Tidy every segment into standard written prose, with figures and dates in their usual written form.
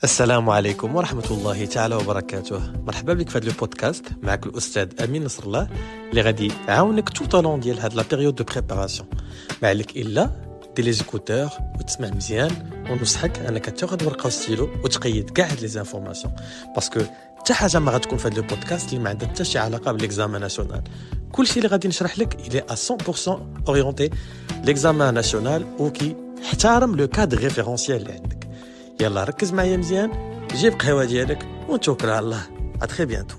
السلام عليكم ورحمة الله تعالى وبركاته. مرحبا بك في هذا البودكاست. معك الأستاذ أمين نصر الله اللي غادي يعاونك tout au long ديال هاد لا بيريود دو بريباراسيون. ما عليك إلا دير لي زيكوتور وتسمع مزيان، ونصحك أنك تاخذ ورقة وستيلو وتقيد كاع هاد لي زانفورماسيون، باسكو حتى حاجة ما غتكون في هاد البودكاست اللي ما عندها حتى شي علاقة بالإكزامان ناسيونال. كلشي اللي غادي نشرح لك إلي à 100% أورينتي لإكزامان ناسيونال وكي احترم لو كادر ريفيرونسيال اللي عندك. يلا ركز معايا مزيان، جيب قهوة ديالك ونتوكل على الله. اتري بيانتو.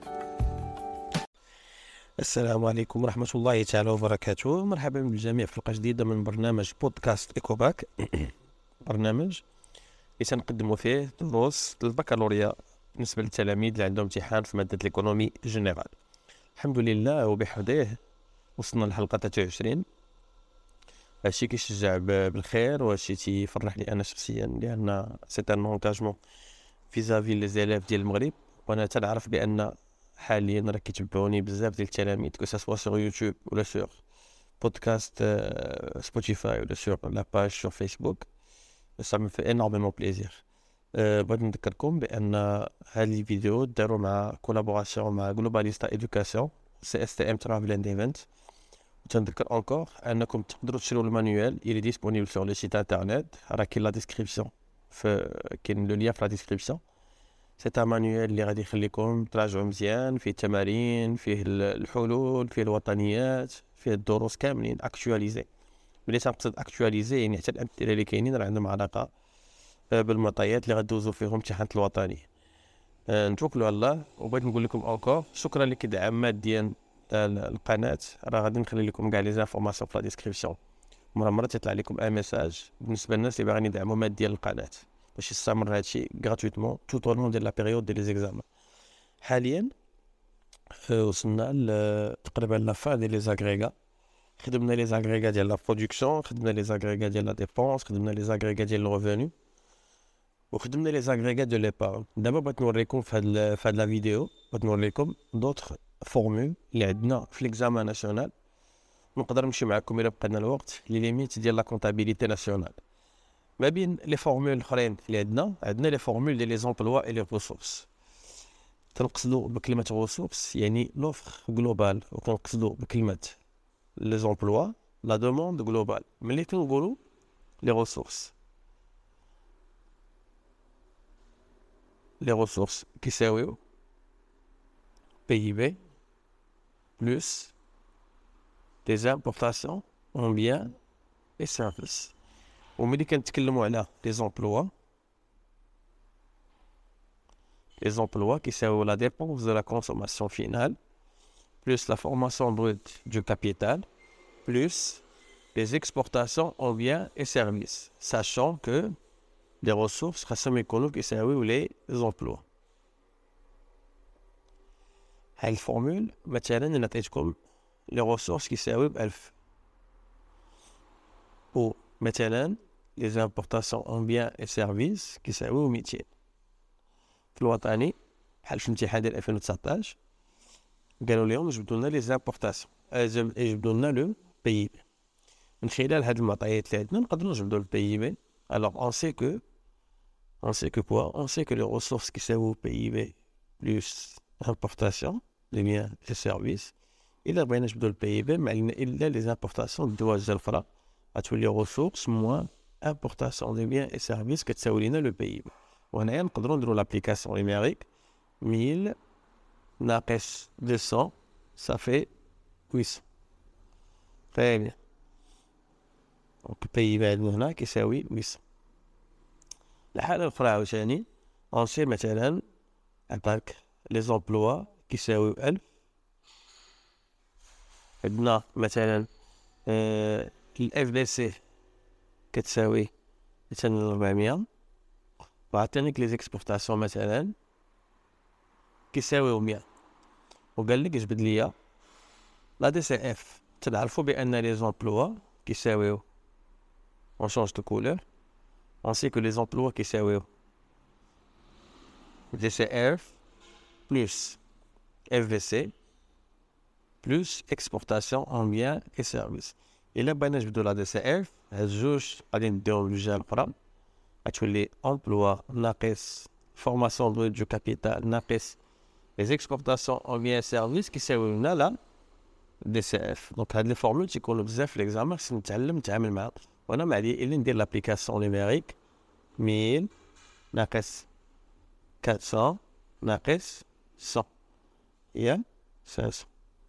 السلام عليكم ورحمة الله تعالى وبركاته. مرحبا بالجميع في حلقة جديدة من برنامج بودكاست إيكوباك، برنامج اللي سنقدموا فيه دروس البكالوريا بالنسبة للتلاميذ اللي عندهم امتحان في مادة الإيكونومي جنرال. الحمد لله وبحمده وصلنا للحلقة 23. هادشي كيشجع بالخير، وهادشي تيفرحني انا شخصيا، لان سي ان انكاجمون فيزافي لي زيليف ديال المغرب. وانا تنعرف بان حاليا راه كيتبعوني بزاف ديال التلاميذ، كو سوا سور يوتيوب ولا سور بودكاست سبوتيفاي ولا سور لا باج سور فيسبوك. سا مي في انورمون بليزير. بغيت نذكركم بان هاد لي فيديو داروا مع كولابوراسيون مع جلوباليستا ايدوكاسيون سي اس تي ام ترافل اند ايفنت. وتنذكر انكور انكم تقدروا تشريو المانيوال، il est disponible sur le site internet، راه كاين لا ديسكريبسيون، كاين لو ليا في لا ديسكريبسيون. سي ان مانيوال اللي غادي يخليكم تراجعوا مزيان، فيه التمارين، فيه الحلول، فيه الوطنيات، فيه الدروس كاملين اكtualisé. ملي تنقصد اكtualisé يعني حتى الامثله اللي كاينين راه عندهم علاقه بالمعطيات اللي غدوزوا فيهم امتحانات الوطني. نتوكلوا على الله. وبغيت نقول لكم انكور شكرا لكدعم ماديا القناه. راه غادي نخلي لكم كاع لي زانفورماسيون في لا ديسكريبسيون. مره تطلع لكم ان ميساج بالنسبه للناس اللي باغيين يدعموا ماديا القناه باش يستمر هادشي غراتويتمون توت او لون ديال لا بيريود ديال لي زيكزامان. حاليا وصلنا تقريبا لا فان ديال لي زاغريغا. خدمنا لي زاغريغا ديال لا برودكسيون، خدمنا لي زاغريغا ديال لا ديبونس، خدمنا لي زاغريغا ديال الريفوني، وخدمنا لي زاغريغا دو ليبارن. دابا بغيت نوريكم في هاد لا فيديو، بغيت نوريكم دوطخ فورمول اللي عندنا في ليكزامان ناسيونال. نقدر نمشي معكم الى بقى لنا الوقت لي ليميت ديال لا كونطابيليتي ناسيونال. ما بين لي فورمول الاخرين اللي عندنا لي فورمول ديال لي زومبلوا اي لي ريسورس. تنقصدوا بكلمه ريسورس يعني لوفر جلوبال، وكنقصدوا بكلمه لي زومبلوا لا دوموند جلوبال. ملي كنقولوا لي ريسورس، لي ريسورس كيساويو PIB plus des importations en biens et services. وملي كنتكلموا على les emplois كيساويو la dépense de la consommation finale plus la formation brute du capital plus les exportations en biens et services, sachant que les ressources خاصهم يكونوا كيساويو les emplois. هاي الفورمول مثلا نعطيتكم les ressources كيساويو ب1000، و مثلا les importations en biens et services كيساويو 200. في الوطني بحال في الامتحان ديال 2019 قالوا لهم جبدوا لنا لي زامبورطاسيون، جبدوا لنا لو PIB. من خلال هاد المعطيات اللي عندنا نقدروا نجبدوا الPIB. alors on sait que les ressources كيساويو PIB plus importation des biens et services. الا بغينا نجبدوا الPIB ما علينا الا لي زامبورطاسيون الدواجن الاخرى غتولي ressources moins importation des biens et services كتساوي لنا لو PIB. وهنايا نقدروا نديروا لابليكاسيون نيميريك 1000 ناقص 200 ça fait 800. très bien. دونك الPIB عندنا هنا كيساوي 800. الحالة الأخرى عاوتاني أنسي مثلا عطاك لي زومبلوا كيساويو 1000. عندنا مثلا FBC كتساوي مثلا 400، وعطانيك لي زيكسبورتاسيون مثلا كيساويو 100، وقال لك جبد ليا لا DCF. تنعرفوا بأن لي زومبلوا كيساويو on change de couleur. On sait que les emplois qui servent DCF plus FVC plus exportation en biens et services. Et là, بغينا نجبدوا لا DCF، هاد جوج غادي نديهم للجهه الاخرى غتولي emploi ناقص formation du capital ناقص les exportations en biens et services كيساويو لنا لا دي سي اف. دونك هاد لي فورمول تيكونوا بزاف في ليكزامان، خصني نتعامل معاهم. وانا ما عليا الا ندير لابليكاسيون نيميريك 1000 ناقص 400 ناقص 100 هي 500.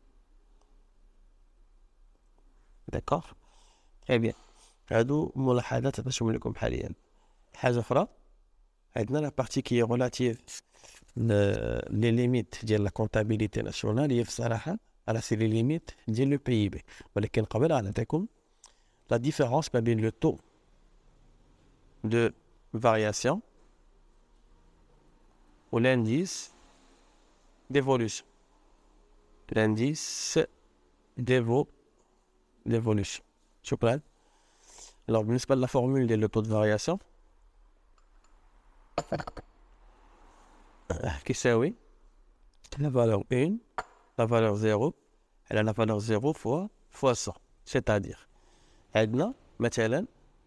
داكوغ تري بيان. هادو ملاحظات عطيتهم لكم حاليا. حاجه اخرى عندنا لا بارتي كي ريلاتيف لي ليميت ديال لا كونطابيليتي ناسيونال، هي في الصراحه على سي لي ليميت ديال لو بي بي. ولكن قبل غنعطيكم لا ديفيرونس ما بين لو تو دو فارياسيون و لانديس ديفولوشن. لانديس ديفولوشن. شكرا. alors بالنسبه لا فورمول ديال لو تو دو فارياسيون كيساوي la valeur 1, la valeur 0, elle a la valeur 0 fois 100. C'est-à-dire, عندنا مثلا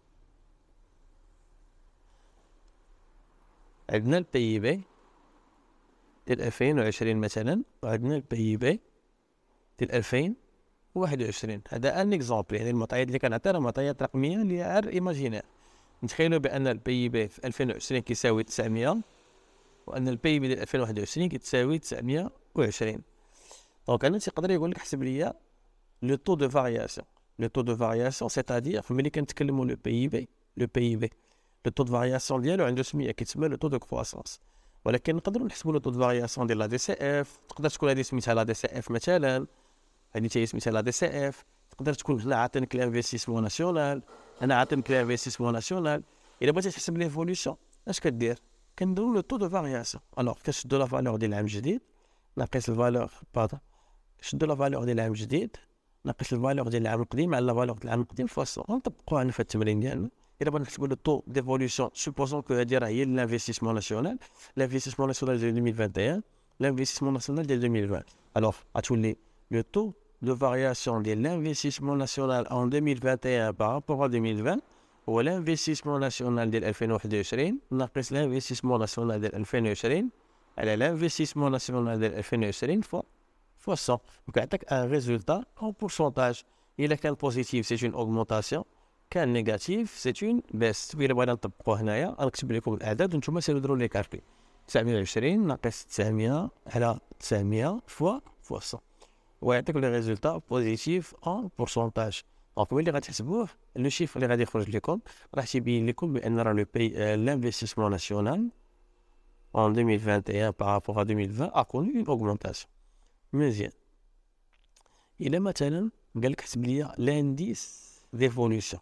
عندنا البي بي ديال 2020 مثلا، وعندنا البي بي ديال 2021. هذا ان اكزومبل، يعني المعطيات اللي كنعطي راه معطيات رقميه اللي غير ايماجينير. نتخيلوا بان البي بي في 2020 كيساوي 900 وان البي بي ديال 2021 كتساوي 920. دونك انا تيقدر يقول لك حسب ليا لو تو دو فارياسيون. لو تو دو فارياسيون سيتادير ملي كنتكلموا لو بي بي لو تو دو فارياسيون ديالو عنده سميه كيتسمى لو تو دو كرواسونس. ولكن نقدروا نحسبوا لو تو دو فارياسيون ديال لا دي سي اف. تقدر تكون هذه سميتها لا دي سي اف مثلا، هذه حتى هي سميتها لا دي سي اف. تقدر تكون هنا عاطينك لانفستيسمون ناسيونال، انا عاطينك لانفستيسمون ناسيونال. الا بغيتي تحسب ليفوليوشن اش كدير؟ كنديروا لو تو دو فارياسيون. الوغ كنشدوا لا فالور ديال العام الجديد ناقص الفالور شدوا لا فالور ديال العام الجديد ناقص الفالور ديال العام القديم على لا فالور ديال العام القديم فاصل. غنطبقوها هنا في التمرين ديالنا. الا بغينا نحسبوا لو طو ديفوليوشن سوبوزون كو هادي راه هي لانفستيسمون ناسيونال، لانفستيسمون ناسيونال ديال 2021 لانفستيسمون ناسيونال ديال 2020. الوغ غتولي لو طو دو فارياسيون ديال لانفستيسمون ناسيونال en 2021 par rapport à 2020 هو لانفستيسمون ناسيونال ديال 2021 ناقص لانفستيسمون ناسيونال ديال 2020 على لانفستيسمون ناسيونال ديال 2020 فوا 100. Donc عطاك ان ريزولتا en pourcentage. الا كان بوزيتيف سي اون اوغمونطاسيون، كان نيجاتيف سي اون بيست. الا بغينا نطبقوه هنايا غنكتب لكم الاعداد وانتم سيروا ديروا لي كالكول. 920 ناقص 900 على 900 فوا 100 ويعطيك لي ريزولتا بوزيتيف ان بورسونتاج. دونك ملي غتحسبوه لو شيفر اللي غادي يخرج لكم راح تيبين لكم بان راه لو بي لانفستيسمون ناسيونال en 2021 par rapport à 2020 a connu une augmentation. مزيان. الا مثلا قال لك حسب لي لانديس ديفولوشن،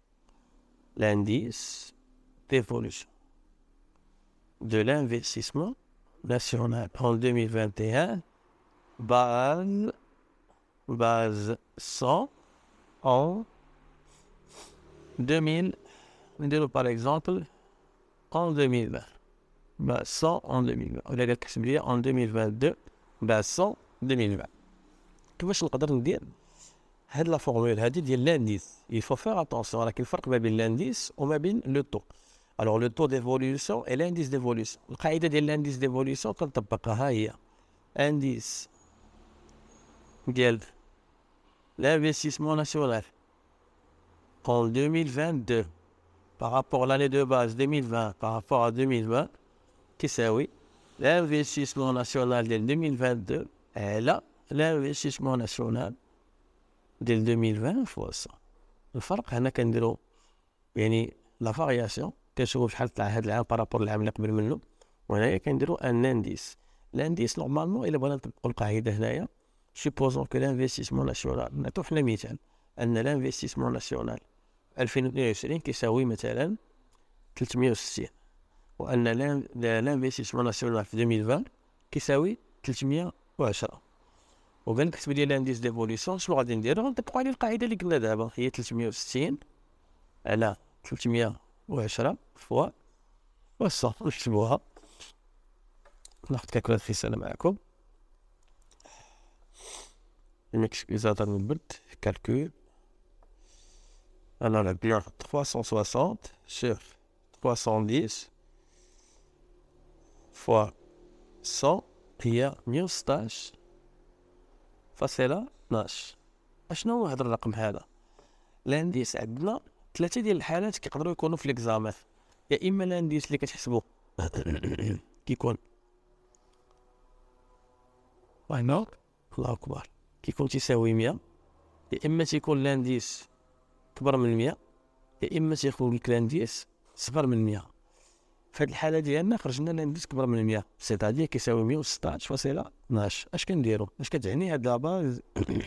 لانديس ديفولوشن de l'investissement national en 2021 base 100 en 2000. نديرو par exemple en 2020 base 100 en 2020. ولا قال لك حسب لي en 2022 base 100 2020. كيفاش نقدر ندير هاد لا فورمول هادي ديال لانديس؟ يفو فير اتونسيون، ولكن الفرق ما بين لانديس وما بين لو طو. الوغ لو طو ديفوليوشن اي لانديس ديفوليوشن. القاعده ديال لانديس ديفوليوشن كنطبقها هي انديس ديال l'investissement national en 2022 par rapport à l'année de base 2020 par rapport à 2020 كيساوي l'investissement national ديال 2022 على l'investissement national ديال 2020 فوا 100. الفرق هنا كنديرو يعني لا فارياسيون كنشوفو شحال طلع هاد العام بارابور العام اللي قبل منه، وهنايا كنديرو ان انديس. الانديس نورمالمون الا بغينا نطبقو القاعده هنايا سوبوزون كو لانفستيسمون ناسيونال، نعطيو حنا مثال ان لانفستيسمون ناسيونال 2022 كيساوي مثلا 360 وان لانفستيسمون ناسيونال في 2020 كيساوي 310. وقال لك حسب لي لانديس ديفوليسيون شنو غادي نديرو؟ غنطبقوا عليه القاعده اللي قلنا دابا هي 360 على 310 فوا 100. نكتبوها، ناخذ كالكولاتريس انا معكم. المكسكيزاتور من البرد كالكول. انا راه بيان 360 sur 70 فوا 100 هي 116.12. اشنو هو هذا الرقم هذا؟ لانديس عندنا ثلاثه ديال الحالات كيقدروا يكونوا في ليكزامان. يا اما لانديس اللي كتحسبوا كيكون الله اكبر كيكون تساوي 100، يا اما تيكون لانديس كبر من 100، يا اما تيكون لانديس صغر من 100. في هذه الحاله ديالنا خرجنا لانديس كبر من 100 سيتادير كيساوي 116.12. اش كنديروا؟ اش كتعني هاد لا باز؟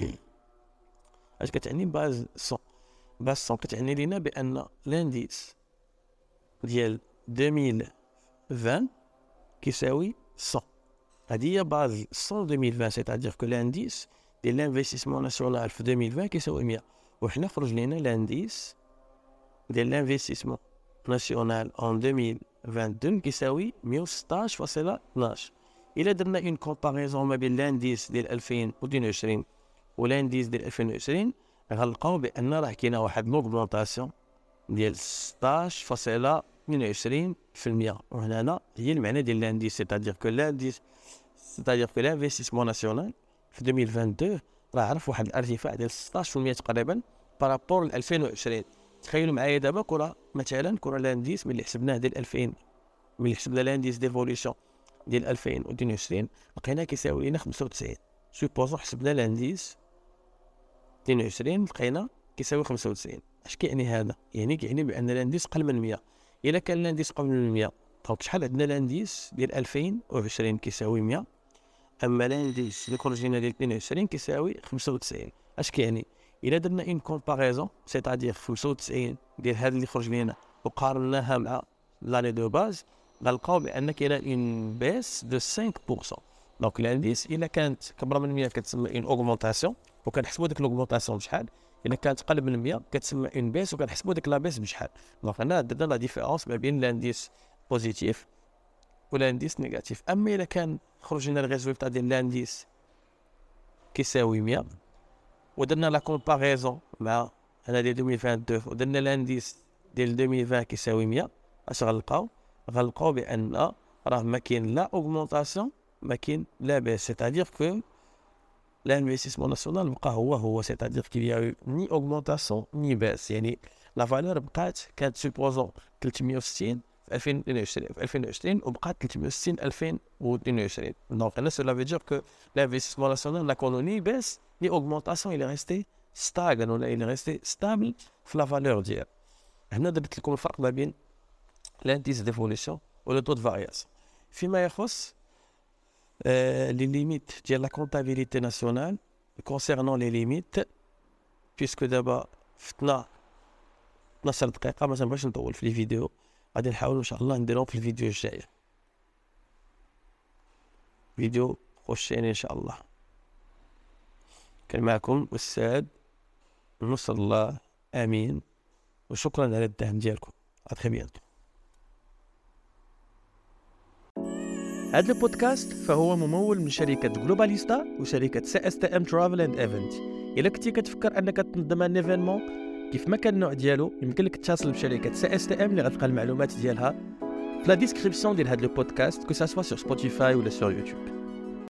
اش كتعني باز 100؟ باز 100 كتعني لينا بان لانديس ديال 2020 كيساوي 100. هذه هي باز 100 2020، سيتادير كو لانديس ديال لانفستيسمون ناسيونال في 2020 كيساوي 100، وحنا خرج لينا لانديس ديال لانفستيسمون ناسيونال en 2022 كيساوي 116.12. الا درنا اون كومباريزون ما بين لانديس ديال 2022 ولانديس ديال 2020 غنلقاو بان راه كاينه واحد لوغمونطاسيون ديال 16.22%. وهنا هي المعنى ديال لانديس، سيتادير كو لانديس سيتادير كو لانفستيسمون ناسيونال في 2022 راه عرف واحد الارتفاع ديال 16% تقريبا بارابور ل 2020. تخيلوا معايا دابا كره مثلا كره لانديس ملي حسبناه ديال 2000، ملي حسبنا لانديس ديفوليوشن ديال 2022 لقينا كيساوي لنا 95. سوبوزون حسبنا لانديس 22 لقينا كيساوي 95. اش كيعني هذا؟ يعني كيعني بان لانديس قل من 100. الا كان لانديس قل من 100 دونك شحال عندنا لانديس ديال 2020 كيساوي 100، اما لانديس اللي خرج لنا ديال 22 كيساوي 95. اش كيعني؟ الا درنا اون كومباريزون سيتادير 95 ديال هذا اللي خرج لينا وقارناها مع لاني دو باز غنلقاو بان كاينه اون بيس دو 5%. دونك لانديس الا كانت كبر من 100 كتسمى اون اوغمونطاسيون، وكنحسبوا ديك لوغمونطاسيون بشحال. الا كانت قل من 100 كتسمى اون بيس، وكنحسبوا ديك لا بيس بشحال. دونك هنا درنا لا ديفيرونس ما بين لانديس بوزيتيف ولانديس نيجاتيف. اما الا كان خرج لنا الريزولتا ديال لانديس كيساوي 100 ودرنا لا كومباريزون مع هنا ديال 2022 ودرنا لانديس ديال 2020 كيساوي 100، اش غنلقاو بان راه ما كاين لا اوغمونطاسيون ما كاين لا بيس. سيتادير كو l'investissement national بقى هو سيتادير كي ني اوغمونطاسيون ني باس. يعني لا فالور بقات كانت سوبوزون 360 في 2020 وبقات 360 2022. دونك هنا سولا فيدير كو l'investissement national لا كونو ني باس ني اوغمونطاسيون، il est resté stagne ولا il est resté stable في لا فالور ديال. هنا درت لكم الفرق ما بين l'indice d'évolution و le taux de variation. فيما يخص les limites ديال la comptabilité nationale concernant les limites، puisque دابا فتنا 12 دقيقة ما تنبغيش نطول في الفيديو، غادي نحاول ان شاء الله نديرهم في الفيديو الجاي، فيديو بروشين ان شاء الله. كان معكم أستاذ نصر الله امين، وشكرا على الدعم ديالكم. اتري بيانتو. هذا البودكاست فهو ممول من شركة جلوباليستا وشركة CSTM Travel and Event. إلا كنتي كتفكر أنك تنظم ان ايفينمون كيف ما كان النوع ديالو، يمكن لك تتصل بشركة CSTM اللي غتلقى المعلومات ديالها في لا ديسكريبسيون ديال هذا البودكاست، كو سا سوا سور سبوتيفاي ولا سور يوتيوب.